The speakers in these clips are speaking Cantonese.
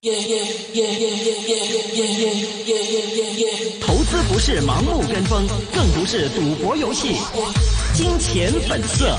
投資不是盲目跟風，更不是賭博遊戲。金錢本色。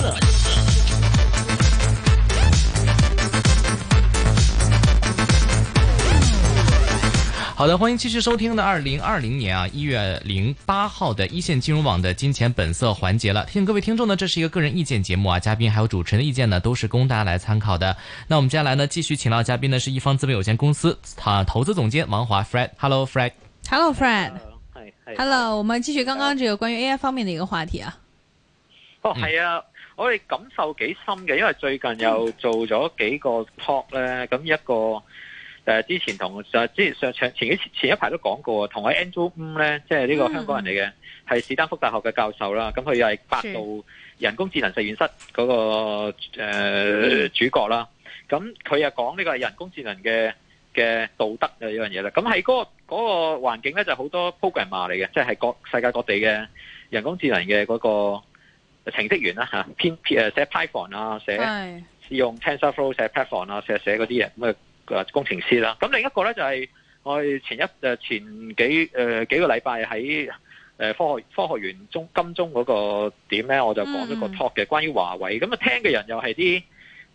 好的，歡迎繼續收聽的2020年1月08號的一線金融網的金錢本色環節了。提醒各位聽眾呢，這是一個個人意見節目啊，嘉賓還有主持人的意見呢，都是供大家來參考的。那我們接下來呢，繼續請到嘉賓呢是一方資本有限公司投資總監王華 Fred。Hello Fred。Hello Fred。Hello， 我們繼續剛剛這個關於 AI 方面的一個話題啊。 哦，係啊，我哋感受幾深嘅，因為最近又做咗幾個 talk 咧，咁一個。之前同前一排都講過，同喺 Andrew Ng 咧，即係呢個香港人嚟嘅，係史丹福大學嘅教授啦。咁佢又係百度人工智能實驗室嗰個主角啦。咁佢又講呢個係人工智能嘅道德嘅一樣嘢啦。咁喺嗰個環境咧，就好多 programmer 嚟嘅，即係世界各地嘅人工智能嘅嗰個程式員啦嚇，寫 Python 啊，試用 TensorFlow 寫 Python 啊，寫嗰啲嘢咁啊。工程師啦，咁另一個咧就係我哋前幾個禮拜喺科學園金鐘嗰個點咧，我就講咗個 talk 嘅，關於華為。咁啊聽嘅人又係啲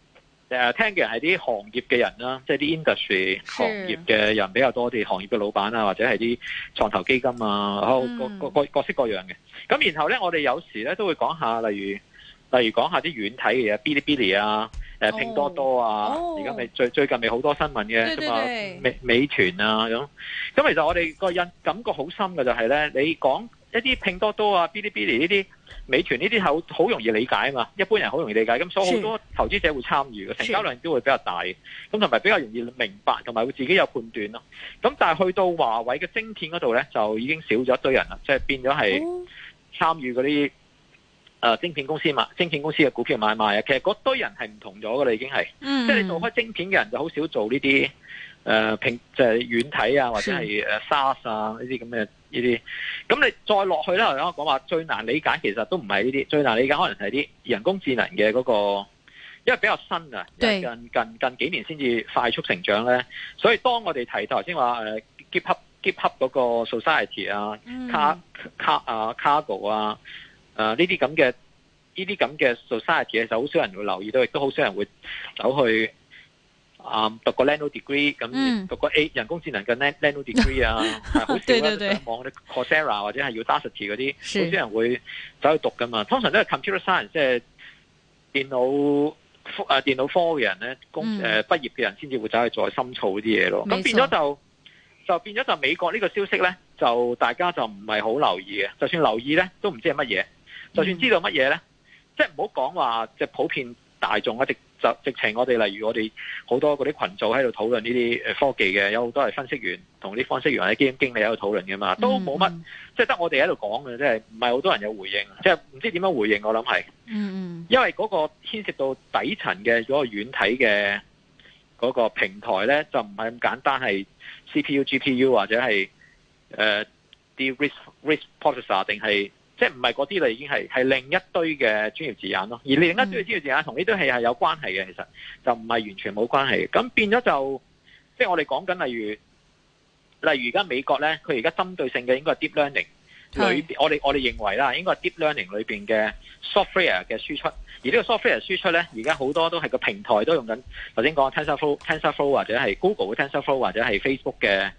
行業嘅人啦，即係啲 industry 行業嘅人比較多啲，行業嘅老闆啊，或者係啲創投基金啊，各式各樣嘅。咁然後咧，我哋有時咧都會講下，例如講下啲軟體嘅嘢，嗶哩嗶哩啊。拼多多啊，而家咪最近咪好多新聞嘅，咁啊美團啊咁其實我哋個感覺好深嘅就係咧，你講一啲拼多多啊、嗶哩嗶哩呢啲、美團呢啲好容易理解啊嘛，一般人好容易理解，咁所以好多投資者會參與嘅，成交量都會比較大，咁同埋比較容易明白，同埋會自己有判斷咯。咁但係去到華為嘅晶片嗰度咧，就已經少咗一堆人啦，即係變咗係參與嗰啲。晶片公司嘅股票買賣啊，其實嗰堆人係唔同咗噶啦，已經係，即係你做開晶片嘅人就好少做呢啲即係軟體啊，或者係SaaS 啊呢啲咁嘅呢啲。咁你再落去咧，我講話最難理解，其實都唔係呢啲，最難理解可能係啲人工智能嘅嗰個，因為比較新啊，近幾年先至快速成長咧。所以當我哋提頭先話GitHub 嗰個 Society 啊，Cargo 啊。呢啲咁嘅 society 就好少人會留意到，亦都好少人會走去讀個 nano degree 咁，讀個人工智能嘅 nano degree 啊，好少啦。上網啲 Coursera 或者係 Udacity 嗰啲，好少人會走去讀噶嘛。通常都係 computer science，即係電腦科嘅人咧，畢業嘅人先至會走去再深造啲嘢咯。咁變咗就美國呢個消息咧，就大家就唔係好留意嘅，就算留意咧，都唔知係乜嘢。就算知道乜嘢咧，即係唔好講話，即係普遍大眾啊，直情我哋例如我哋好多嗰啲群組喺度討論呢啲科技嘅，有好多係分析員同啲分析員或者基金經理喺度討論嘅嘛，都冇乜，即係得我哋喺度講嘅，即係唔係好多人有回應，即係唔知點樣回應，我諗係，因為嗰個牽涉到底層嘅嗰個軟體嘅嗰個平台咧，就唔係咁簡單係 CPU、GPU 或者係啲 RISC processor 定係。即係唔係嗰啲啦，已經係另一堆嘅專業字眼咯。而另一堆嘅專業字眼同呢堆係有關係嘅，其實就唔係完全冇關係。咁變咗就，即係我哋講緊例如而家美國咧，佢而家針對性嘅應該係 deep learning 裏邊，我哋認為啦，應該係 deep learning 裏邊嘅 software 嘅輸出。而呢個 software 輸出咧，而家好多都係個平台都用緊。頭先講 TensorFlow 或者係 Google 嘅 TensorFlow 或者係 Facebook 嘅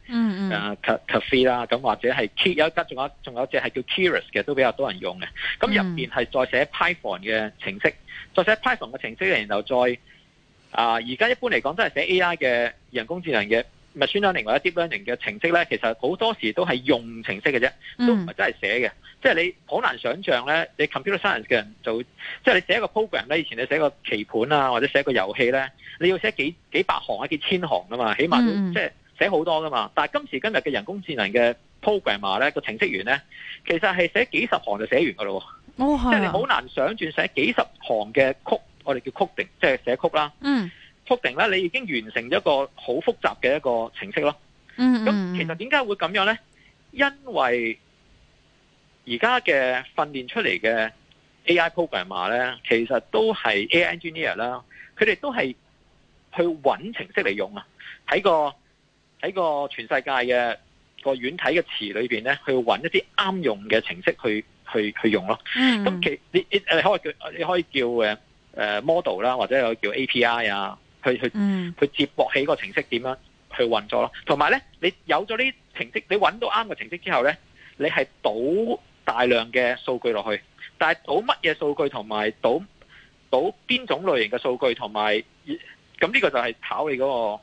Caffe 啦，咁或者係有一間仲有隻係叫 Keras 嘅，都比較多人用嘅。咁入邊係再寫 Python 嘅程式，再寫 Python 嘅程式，然後再而家一般嚟講都係寫 AI 嘅人工智能嘅 machine learning 或者 deep learning 嘅程式咧，其實好多時都係用程式嘅啫，都唔係真係寫嘅。即係你好難想象咧，你 computer science 嘅人就即係你寫一個 program 咧，以前你寫個棋盤啊，或者寫個遊戲咧，你要寫幾百行啊，幾千行噶嘛，起碼都即係寫好多噶嘛。但係今時今日嘅人工智能嘅 programmer 咧，個程式員咧，其實係寫幾十行就寫完噶咯。即係你好難想象寫幾十行嘅曲，我哋叫 coding，即係寫曲啦。coding 咧，你已經完成咗一個好複雜嘅一個程式咯。咁其實點解會咁樣咧？因為而家嘅訓練出嚟嘅 AI programmer 咧，其實都係 AI engineer 啦，佢哋都係去揾程式嚟用啊，睇個喺個全世界嘅個軟體嘅池裏邊咧，去揾一啲啱用嘅程式去用咯。咁你可以叫model 啦，或者有叫 API 啊，去接駁起個程式點樣去運作咯。同埋咧，你有咗呢程式，你揾到啱嘅程式之後咧，你係倒大量嘅數據落去，但係倒乜嘢數據同埋倒邊種類型嘅數據，同埋咁呢個就係考你嗰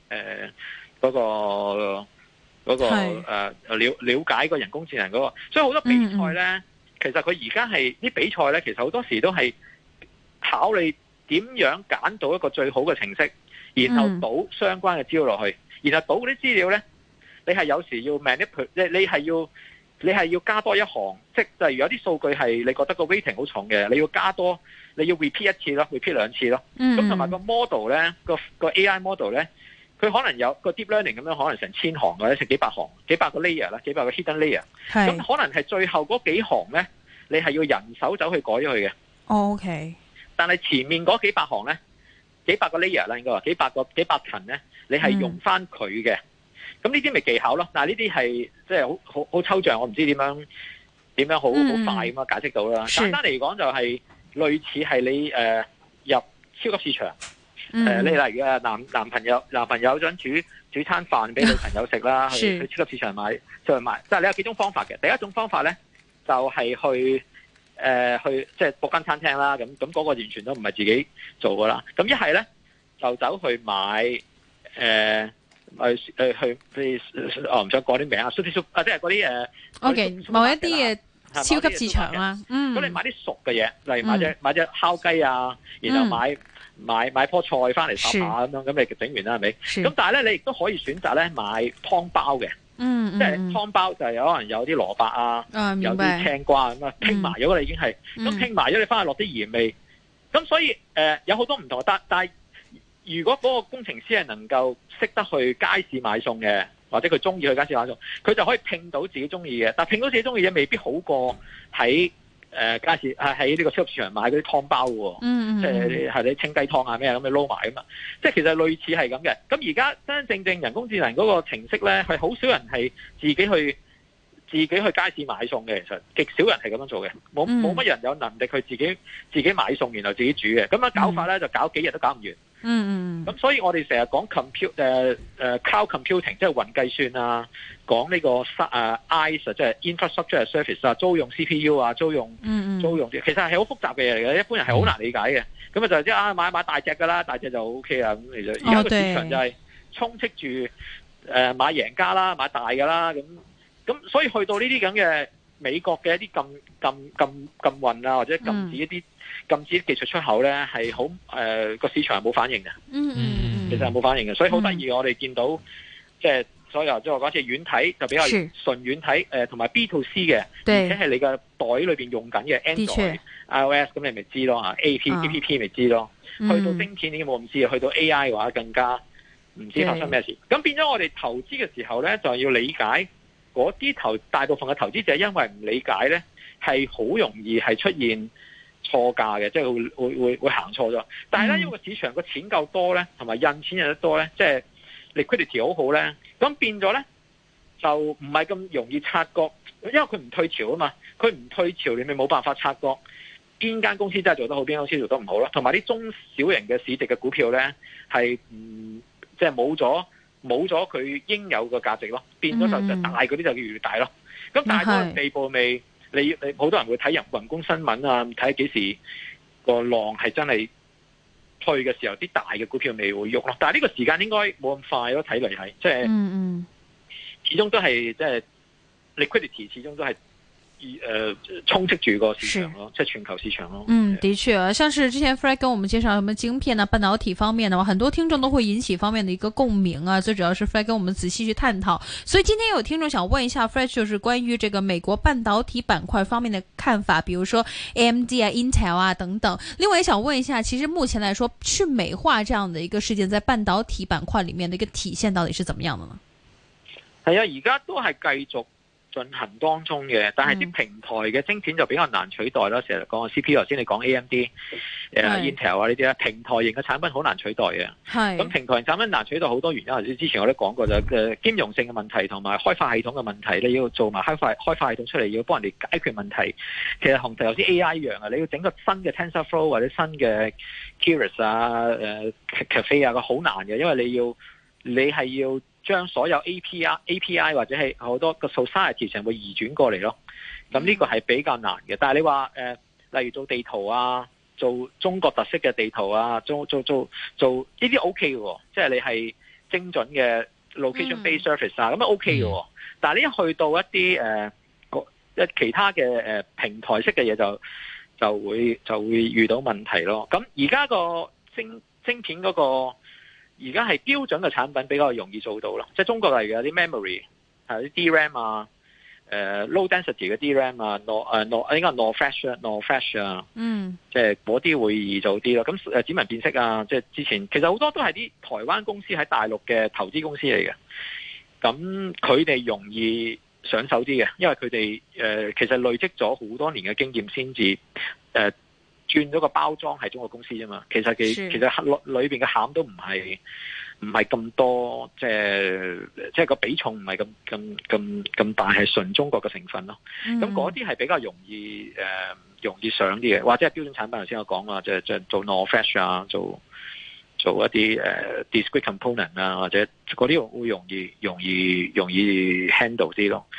個了解個人工智能嗰個。所以好多比賽咧，其實佢而家係啲比賽咧，其實好多時都係考你點樣揀到一個最好嘅程式，然後倒相關嘅資料落去，然後倒嗰啲資料咧，你係有時要 manipulate， 你係要加多一行，即係例如有啲數據係你覺得個 weighting 好重嘅，你要加多，你要 repeat 一次咯 ，repeat 兩次咯。咁同埋個 model 咧，個 AI model 咧，佢可能有個 deep learning 咁樣，可能成千行或者成幾百行、幾百個 layer 啦，幾百個 hidden layer。咁可能係最後嗰幾行咧，你係要人手走去改咗佢嘅。 OK。但係前面嗰幾百行咧，幾百個 layer 啦，應該話幾百層咧，你係用翻佢嘅。咁呢啲咪技巧咯，但係呢啲係即係好抽象，我唔知點樣好快咁樣解釋到啦。簡單嚟講就係類似係你入超級市場，你例如男朋友想煮餐飯俾女朋友食啦，去超級市場買，即係你有幾種方法嘅。第一種方法咧就係去即係 book 間餐廳啦，咁嗰個完全都唔係自己做噶啦。咁一係咧就走去買我唔想講啲名啊，即係嗰啲 OK， 某一啲嘅超級市場啦。 咁你買啲熟嘅嘢，例如買隻烤雞啊，然後買棵菜翻嚟烚下咁樣，咁你整完啦係咪？咁但係咧，你亦都可以選擇咧買湯包嘅。即係湯包就係可能有啲蘿蔔啊，有啲青瓜咁啊，拼埋咗啦已經係。咁拼埋咗，你翻去落啲鹽味。咁所以有好多唔同，但係如果嗰個工程師係能夠識得去街市買餸嘅，或者佢中意去街市買餸，佢就可以拼到自己中意嘅。但係拼到自己中意嘅未必好過喺街市喺呢個超級市場買嗰啲湯包喎。即係係你清雞湯啊咩咁你撈埋啊嘛。即係其實類似係咁嘅。咁而家真真正正人工智能嗰個程式咧，係好少人係自己去街市買餸嘅，其實極少人係咁樣做嘅，冇乜人有能力去自己買餸，然後自己煮嘅。咁樣搞法咧就搞幾日都搞唔完。咁所以我哋成日講 cloud computing， 即係雲計算啊，講呢個IaaS 即係 infrastructure as service 啊，租用 CPU 啊，租用其實係好複雜嘅嘢嚟嘅，一般人係好難理解嘅。咁就即係買大隻㗎啦，大隻就 OK 啦。咁其實而家個市場就係充斥住買贏家啦，買大㗎啦。咁所以去到呢啲咁嘅美國嘅一啲禁運啊，或者禁止一啲技術出口咧，係好個市場係冇反應嘅。其實係冇反應嘅，所以好得意。我哋見到即係所有即係我講似軟體就比較純軟體，同埋 B to C 嘅，而且係你嘅袋裏邊用緊嘅 Android、iOS， 咁你咪知咯嚇。APP 咪知咯。去到晶片已經冇咁知，去到 AI 嘅話更加唔知發生咩事。咁變咗我哋投資嘅時候咧，就要理解。嗰啲大部分嘅投資者因為唔理解咧，係好容易係出現錯價嘅，即係會行錯咗。但係咧，因為個市場個錢夠多咧，同埋印錢印得多咧，即係 liquidity 好好咧，咁變咗咧就唔係咁容易察覺，因為佢唔退潮啊嘛，佢唔退潮，你咪冇辦法察覺邊間公司真係做得好，邊間公司做得唔好咯。同埋啲中小型嘅市值嘅股票咧，係即係冇咗佢應有嘅價值咯，變咗就大嗰啲就越嚟越大咯。咁大到個地步未？你好多人會睇人工新聞啊，睇幾時個浪係真係退嘅時候，啲大嘅股票未會喐咯。但係呢個時間應該冇咁快咯，睇嚟係即係始終都係即係 liquidity， 始終都係。充斥住個市場咯，即係全球市場咯。 的確，像是之前 Fred 跟我們介紹什麼晶片啊、半導體方面的話，很多聽眾都會引起方面的一個共鳴啊。最主要是 Fred 跟我們仔細去探討。所以今天有聽眾想問一下 Fred，就是關於這個美國半導體板塊方面的看法，比如說 AMD 啊、Intel 啊等等。另外也想問一下，其實目前來說，去美化這樣的一個事件，在半導體板塊裏面的一個體現到底是怎麼樣的呢？ 係啊，而家都係繼續進行當中嘅，但係啲平台嘅晶片就比較難取代啦。成日講 CPU，頭先你講 AMD、Intel 啊呢啲咧，平台型嘅產品好難取代嘅。咁平台型產品難取代好多原因，之前我都講過就兼容性嘅問題同埋開發系統嘅問題，你要做埋開發系統出嚟，要幫人哋解決問題。其實同頭先 AI 一樣啊，你要整個新嘅 TensorFlow 或者新嘅 Keras 啊、Caffe 啊，個好難嘅，因為你係要將所有 API 或者係好多個 society 成會移轉過嚟咯，咁呢個係比較難嘅。但係你話例如做地圖啊，做中國特色嘅地圖啊，做呢啲 OK 嘅，即係你係精準嘅 location based service 啊，咁啊 OK 嘅。但係你一去到一啲其他嘅平台式嘅嘢就會遇到問題咯。咁而家個晶片嗰個。而家係標準嘅產品比較容易做到咯，即係中國例如有啲 memory 係啲 DRAM 啊，low density 嘅 DRAM 啊應該 NOR flash 啊，即係嗰啲會易做啲咯。咁指紋辨識啊，即係之前其實好多都係啲台灣公司喺大陸嘅投資公司嚟嘅，咁佢哋容易上手啲嘅，因為佢哋其實累積咗好多年嘅經驗先至轉咗個包裝係中國公司啫嘛，其實裏邊嘅餡都唔係咁多，即係個比重唔係咁大，係純中國嘅成分咯。咁嗰啲係比較容易上啲嘅，或者係標準產品。頭先我講話就做 NOR flash 啊，做一啲discrete component 啊，或者嗰啲會容易 handle 啲咯。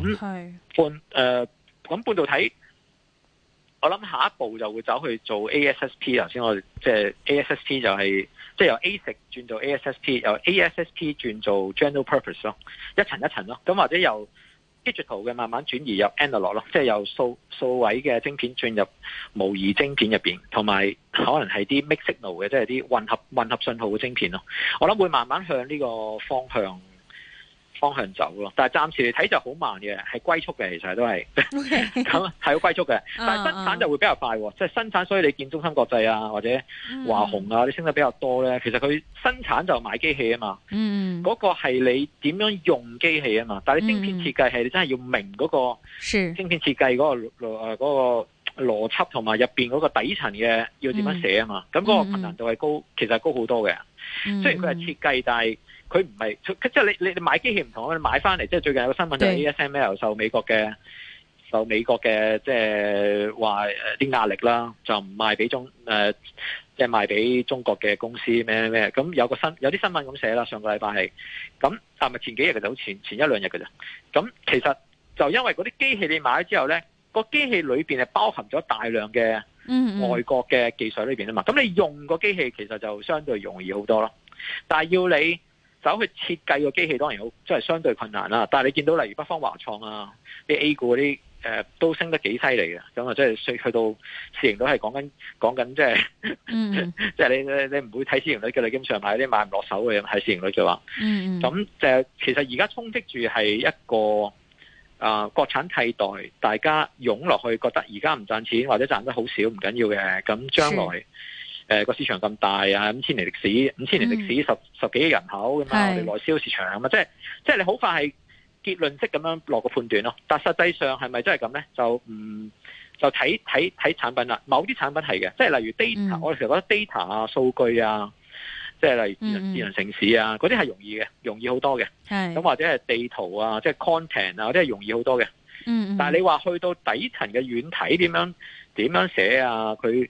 咁半導體。我諗下一步就會走去做 ASSP， 頭先我即係 ASSP 就係即係由 ASIC 轉做 ASSP， 由 ASSP 轉做 general purpose 咯，一層一層咯。咁或者由 digital 嘅慢慢轉移入 analog 咯，即係由數位嘅晶片轉入模擬晶片入邊，同埋可能係啲 mixed signal 嘅，即係啲混合信號嘅晶片咯。我諗會慢慢向呢個方向走咯，但係暫時嚟睇就好慢嘅，係龜速嘅，其實都係咁係好龜速嘅。但係生產就會比較快，即係生產，所以你見中芯國際啊或者華虹啊，你升得比較多咧。其實佢生產就買機器啊嘛，嗰個係你點樣用機器啊嘛。但係你晶片設計係你真係要明嗰個晶片設計嗰個邏輯同埋入邊嗰個底層嘅要點樣寫啊嘛。咁嗰個困難度係高，其實係高好多嘅。雖然佢係設計，但係佢唔係即係你買機器唔同，你買翻嚟即係最近有個新聞就係 ASML 受美國嘅即係話啲壓力啦，就唔賣俾即係賣俾中國嘅公司咩咁有啲新聞咁寫啦，上個禮拜係咁，但係前幾日嘅就好前一兩日嘅啫。咁其實就因為嗰啲機器你買咗之後咧，個機器裏邊係包含咗大量嘅外國嘅技術裏邊啊嘛，咁你用個機器其實就相對容易好多咯。但係要你走去設計個機器，當然好，即係相對困難啦。但係你見到例如北方華創啊，啲 A 股嗰啲都升得幾犀利嘅，咁啊即係去到市盈率係講緊即係，即係你唔會睇市盈率嘅，你基本上買啲買唔落手嘅，係市盈率嘅話，咁其實而家充斥住係一個國產替代，大家湧落去，覺得而家唔賺錢或者賺得好少唔緊要嘅，咁將來個市場咁大啊，5,000年歷史十幾億人口咁啊，我哋內銷市場啊嘛，即係你好快係結論式咁樣落個判斷咯。但實際上係咪真係咁咧？就睇產品啦。某啲產品係嘅，即係例如 data，我哋成日覺得 data 啊、數據啊，即係例如智能城市啊，嗰啲係容易好多嘅。咁或者係地圖啊，即係 content 啊，嗰啲係容易好多嘅。但係你話去到底層嘅軟體點樣寫啊？佢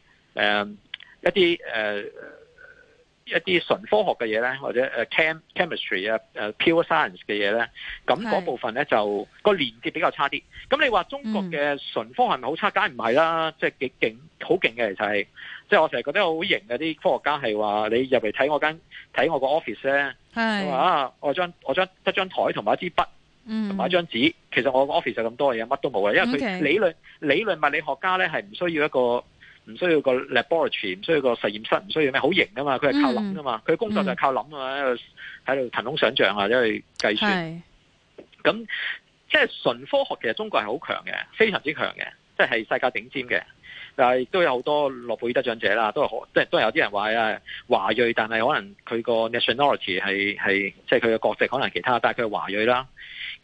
一啲純科學嘅嘢咧，或者chemistry 啊pure science 嘅嘢咧，咁嗰部分咧就個連接比較差啲。咁你話中國嘅純科學係咪好差？梗係唔係啦，即係幾勁，好勁嘅其實係，即係我成日覺得好型嘅啲科學家係話，你入嚟睇我個 office 咧，話我得張台同埋一支筆，同埋一張紙，其實我個 office 就咁多嘢，乜都冇嘅，因為佢理論物理學家咧係唔需要個 laboratory， 唔需要個實驗室，唔需要咩好型噶嘛，佢係靠諗噶嘛，佢工作就係靠諗啊，喺度騰空想象啊，或者去計算。咁即係純科學，其實中國係好強嘅，非常之強嘅，即係世界頂尖嘅。但係亦都有好多諾貝爾得獎者啦，都係有啲人話啊華裔，但係可能佢個 nationality 係即係佢嘅國籍可能其他，但係佢係華裔啦。咁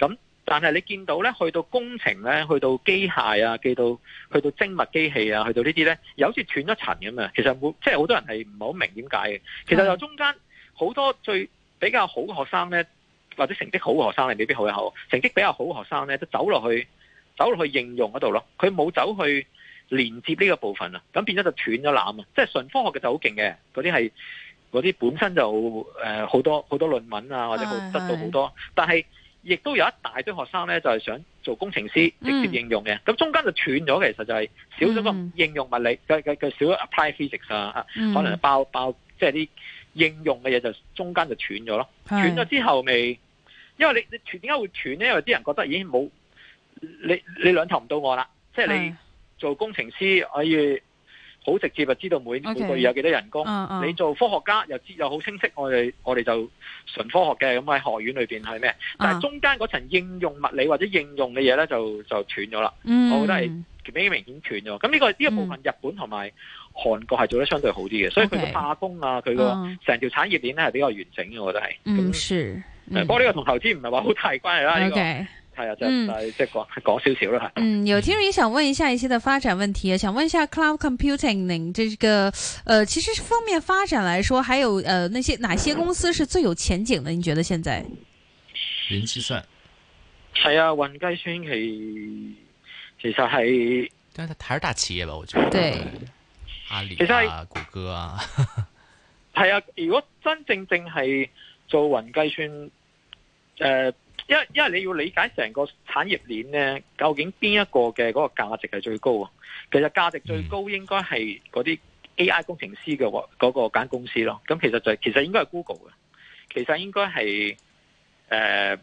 但係你見到咧，去到工程咧，去到機械啊，去到精密機器啊，去到呢啲咧，又好似斷咗層咁啊！其實即係好多人係唔係好明點解嘅。其實就中間好多比較好嘅學生咧，或者成績好嘅學生，你未必好有成績比較好嘅學生咧，都走落去應用嗰度咯。佢冇走去連接呢個部分啊，咁變咗就斷咗纜啊！即係純科學嘅就好勁嘅，嗰啲本身就好多論文啊，或者得到好多，但係亦都有一大堆學生咧，就係想做工程師直接應用嘅。咁中間就斷咗，其實就係少咗個應用物理，佢少咗 apply physics 啊，可能包即係啲應用嘅嘢就中間就斷咗咯。斷咗之後未，因為你點解會斷咧？因為啲人覺得已經冇你兩頭唔到岸啦，即係你做工程師可以好直接就知道每個月有幾多人工。你做科學家又好清晰，我哋就純科學嘅，咁喺學院裏邊係咩？但係中間嗰層應用物理或者應用嘅嘢咧就斷咗啦。我覺得係比較明顯斷咗。咁呢個部分日本同埋韓國係做得相對好啲嘅，所以佢嘅化工啊，佢個成條產業鏈咧係比較完整嘅，我覺得係。不過呢個同投資唔係話好大關係啦。呢個係啊，即係講少少啦。 有聽眾也想問一下一些的發展問題，想問一下 cloud computing 這個其實方面發展來說，還有哪些公司是最有前景的？你覺得現在？ 雲計算係啊，雲計算其實係， 但係它還是大企業吧？我覺得對，阿里啊、谷歌啊， 係啊。如果真正係做雲計算，因為你要理解成個產業鏈咧，究竟邊一個嘅嗰個價值係最高啊？其實價值最高應該係嗰啲 AI 工程師嘅嗰個間公司咯。咁其實應該係 Google 嘅，其實應該係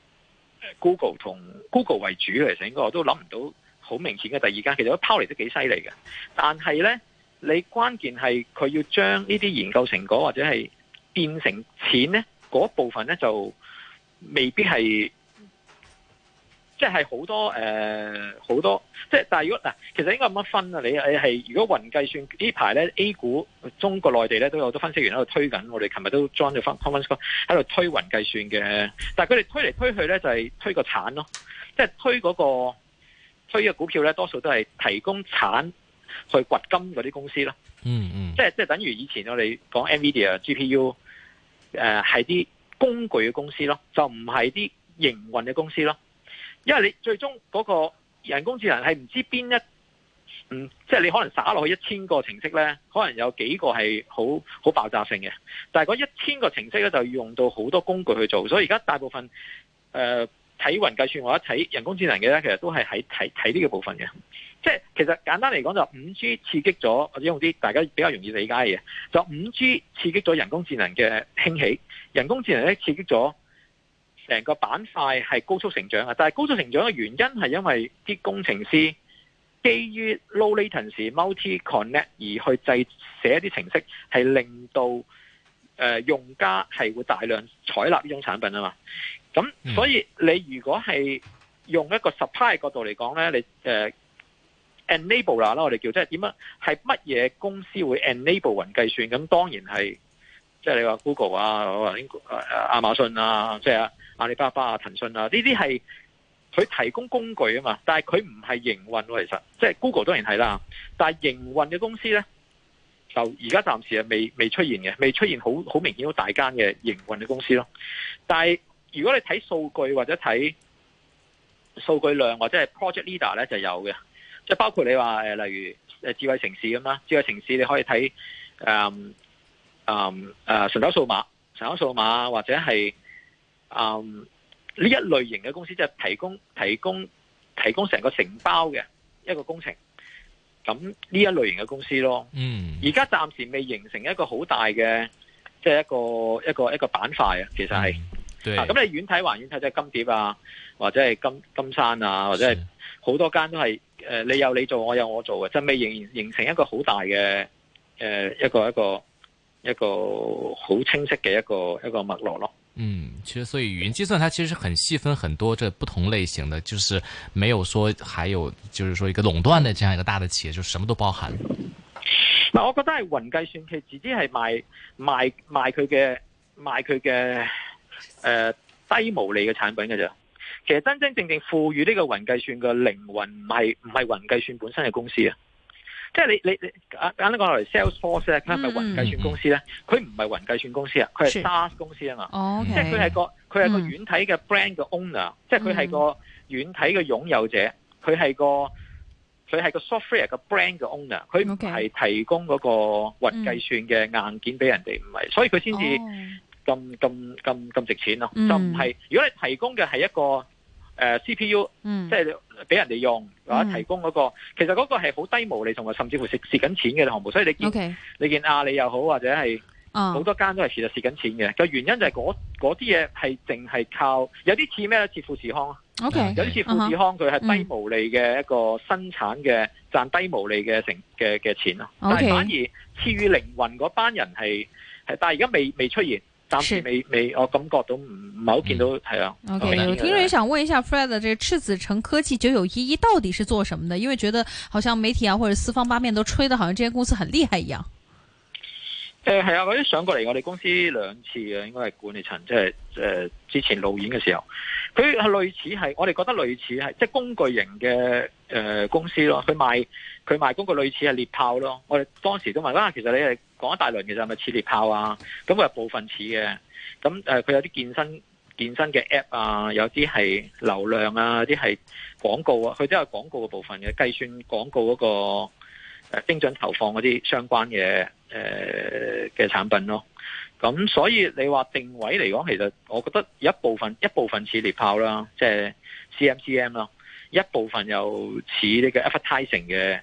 Google 同 Google 為主嘅。其實應該我都諗唔到好明顯嘅第二間，其實都拋離得幾犀利嘅。但係咧，你關鍵係佢要將呢啲研究成果或者係變成錢咧，嗰部分咧就未必係，即係好多好多，即係但係如果嗱，其實應該咁樣分啊。你係如果雲計算呢排咧 A 股中國內地咧都有好多分析員喺度推緊，我哋琴日都 join 咗 conference call 喺度推雲計算嘅，但係佢哋推嚟推去咧就係推個產咯，即係推嘅股票咧多數都係提供產去掘金嗰啲公司咯。即係等於以前我哋講 NVIDIA GPU 係啲工具嘅公司咯，就唔係啲營運嘅公司咯。因為你最終嗰個人工智能係唔知邊即係你可能灑落去1000個程式咧，可能有幾個係好爆炸性嘅。但係嗰1000個程式咧就要用到好多工具去做，所以而家大部分睇雲計算或者睇人工智能嘅咧，其實都係喺睇呢個部分嘅。即係其實簡單嚟講就 5G 刺激咗，或者用啲大家比較容易理解嘅嘢，就 5G 刺激咗人工智能嘅興起，人工智能咧刺激咗成個板塊係高速成長啊！但係高速成長嘅原因係因為啲工程師基於 low latency multi connect 而去寫一啲程式，係令到用家係會大量採納呢種產品啊嘛。咁所以你如果係用一個 supply 嘅角度嚟講咧，你enabler 啦，我哋叫即係點樣？係乜嘢公司會 enable 雲計算？咁當然係即係你話 Google 啊、亞馬遜啊、即係阿里巴巴啊、騰訊啊，呢啲係佢提供工具啊嘛。但係佢唔係營運喎，其實即係 Google 當然係啦。但係營運嘅公司咧，就而家暫時係未出現嘅，未出現好明顯好大間嘅營運嘅公司咯。但係如果你睇數據或者睇數據量或者係 project leader 咧，就有嘅。即係包括你話例如智慧城市咁啦，智慧城市你可以睇神州數碼或者係呢一類型嘅公司，即係提供成個承包嘅一個工程。咁呢一類型嘅公司咯，而家暫時未形成一個好大嘅，即係一個板塊啊。其實係，咁你遠睇還遠睇，即係金蝶啊，或者係金山啊，或者係好多間都係。你有你做，我有我做嘅，就未形成一個好大嘅一個好清晰嘅一個脈絡咯。 其實所以雲計算它其實很細分很多這不同類型的，就是沒有說還有就是說一個壟斷的這樣一個大的企業，就什麼都包含。 嗱，我覺得係雲計算佢自己係賣佢嘅低毛利嘅產品嘅啫。 其實真真正正賦予呢個雲計算嘅靈魂唔係雲計算本身嘅公司啊。即係你簡單講落嚟 Salesforce 咧，佢係咪雲計算公司咧？佢唔係雲計算公司啊，佢係 SaaS 公司啊嘛。即係佢係個軟體嘅 brand 嘅 owner，即係佢係個軟體嘅擁有者，佢係個 software 嘅 brand 嘅 owner， 佢唔係提供嗰個雲計算嘅硬件俾人哋，唔係，所以佢先至咁值錢咯。就唔係，如果你提供嘅係一個CPU，即係俾人哋用，或者提供嗰個，其實嗰個係好低毛利，同埋甚至乎蝕緊錢嘅項目。所以你見阿里又好，或者係好多間都係其實蝕緊錢嘅。個原因就係嗰啲嘢係淨係靠，有啲似咩咧？似富士康啊，有啲似富士康，佢係低毛利嘅一個生產嘅賺低毛利嘅嘅錢咯。但係反而賜予靈魂嗰班人係，但係而家未出現。暫時未，我感覺到唔係好見到，係啊。 OK， 有聽眾也想問一下 Fred， 這個赤子城科技9911到底是做什麼的？因為覺得好像媒體啊或者四方八面都吹得好像這間公司很厲害一樣。 係啊，嗰啲上過嚟我哋公司2次嘅，應該係管理層，即係之前路演嘅時候，佢係類似係，我哋覺得類似係即係工具型嘅公司咯。佢賣工具類似係獵炮咯。我哋當時都問其實你係講一大輪，其實係咪似獵炮啊？咁佢係部分似嘅。咁佢有啲健身嘅 app 啊，有啲係流量啊，有啲係廣告啊，佢都有廣告嘅部分嘅，計算廣告嗰個精準投放嗰啲相關嘅嘅產品咯。咁所以你話定位嚟講，其實我覺得一部分似獵炮啦，即係 CMCM 啦，一部分又似呢個 advertising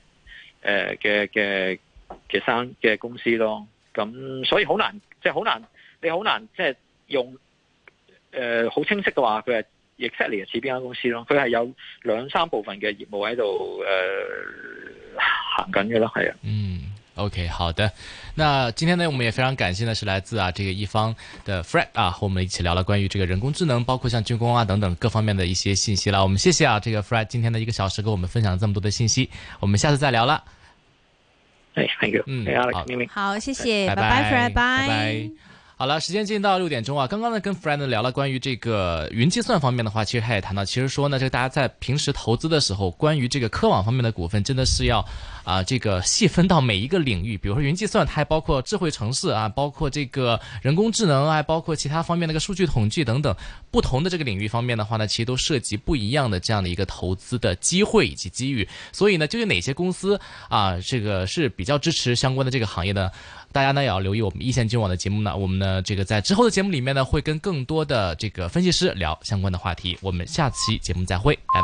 嘅公司咯。咁所以好難，即係好難，你好難即係用好清晰嘅話，佢係 exactly 似邊間公司咯。佢係有2-3部分嘅業務喺度行緊嘅咯，係啊。 OK， 好的。那今天呢，我們也非常感謝呢，是來自這個一方的 Fred 和我們一起聊了關於這個人工智能，包括像軍工等等各方面的一些信息啦。我們謝謝這個 Fred 今天的1個小時跟我們分享這麼多的信息，我們下次再聊啦。 Thank you。 好，謝謝，拜拜 Fred，拜拜。 好了，時間進到6點鐘啊。剛剛呢跟 Fred 呢聊了關於這個雲計算方面的話，其實他也談到，其實說呢，這個大家在平時投資的時候，關於這個科網方面的股份，真的是要這個細分到每一個領域。比如說雲計算，它還包括智慧城市啊，包括這個人工智能啊，包括其他方面的個數據統計等等，不同的這個領域方面的話呢，其實都涉及不一樣的這樣的一個投資的機會以及機遇。所以呢，究竟哪些公司這個是比較支持相關的這個行業呢？大家呢也要留意我們一線金融網的節目呢，我們呢這個在之後的節目裏面呢會跟更多的這個分析師聊相關的話題。我們下期節目再會，拜拜。